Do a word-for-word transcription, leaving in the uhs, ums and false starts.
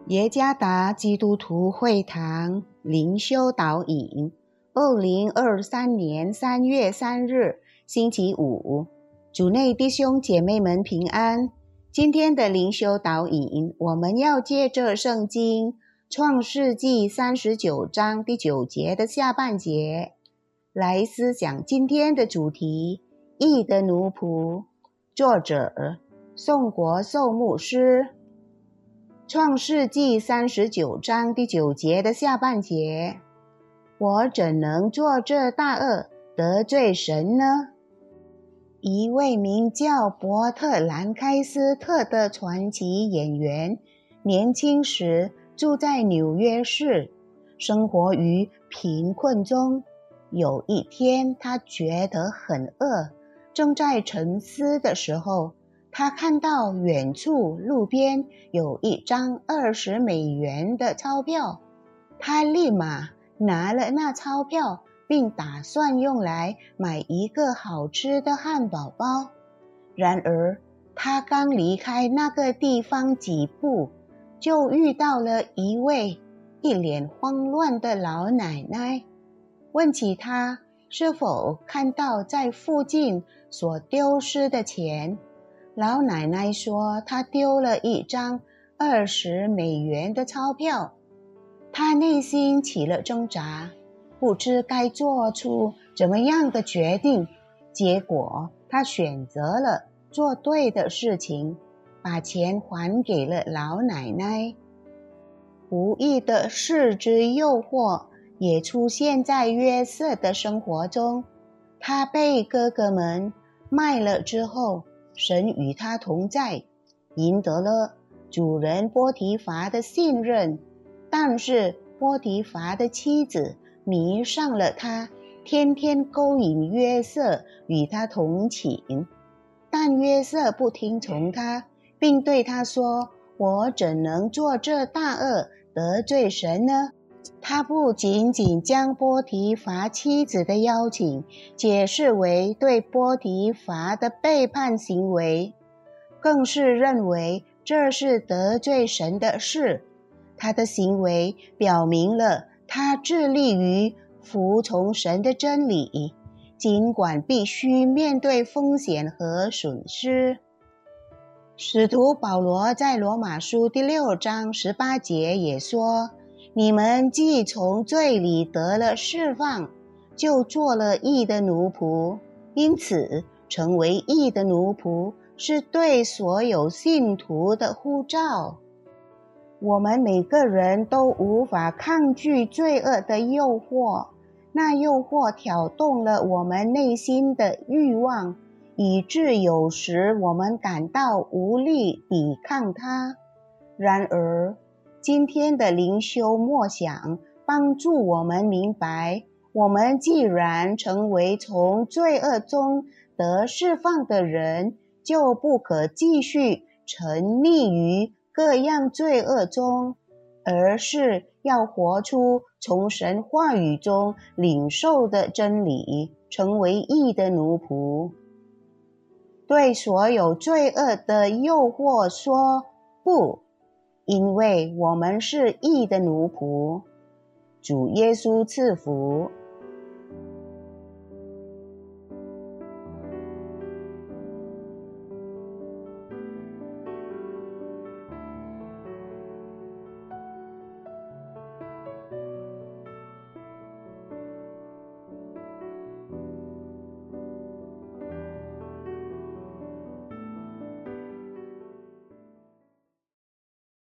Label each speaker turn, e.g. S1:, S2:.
S1: 耶加达基督徒会堂灵修导引，二零二三年三月三日，星期五。主内弟兄姐妹们平安。今天的灵修导引，我们要借着圣经创世纪三十九章第九节的下半节，来思想今天的主题：义的奴仆。作者宋国寿牧师。创世纪三十九章第九节的下半节，我怎能做这大恶，得罪神呢？一位名叫伯特兰开斯特的传奇演员，年轻时住在纽约市，生活于贫困中。有一天，他觉得很饿，正在沉思的时候，他看到远处路边有一张二十美元的钞票，他立马拿了那钞票，并打算用来买一个好吃的汉堡包。然而，他刚离开那个地方几步，就遇到了一位一脸慌乱的老奶奶，问起他是否看到在附近所丢失的钱。老奶奶说，她丢了一张二十美元的钞票。她内心起了挣扎，不知该做出怎么样的决定。结果，她选择了做对的事情，把钱还给了老奶奶。不义的事之诱惑也出现在约瑟的生活中。他被哥哥们卖了之后，神与他同在，赢得了主人波提乏的信任。但是波提乏的妻子迷上了他，天天勾引约瑟与他同寝。但约瑟不听从他，并对他说，我怎能做这大恶，得罪神呢？他不仅仅将波提乏妻子的邀请解释为对波提乏的背叛行为，更是认为这是得罪神的事。他的行为表明了他致力于服从神的真理，尽管必须面对风险和损失。使徒保罗在罗马书第六章十八节也说，你们既从罪里得了释放，就做了义的奴仆。因此，成为义的奴仆是对所有信徒的呼召。我们每个人都无法抗拒罪恶的诱惑，那诱惑挑动了我们内心的欲望，以致有时我们感到无力抵抗它。然而，今天的灵修默想帮助我们明白，我们既然成为从罪恶中得释放的人，就不可继续沉溺于各样罪恶中，而是要活出从神话语中领受的真理，成为义的奴仆。对所有罪恶的诱惑说不，因为我们是义的奴仆。主耶稣赐福。